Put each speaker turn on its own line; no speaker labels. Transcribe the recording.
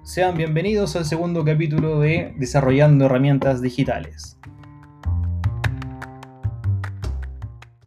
Sean bienvenidos al segundo capítulo de Desarrollando Herramientas Digitales.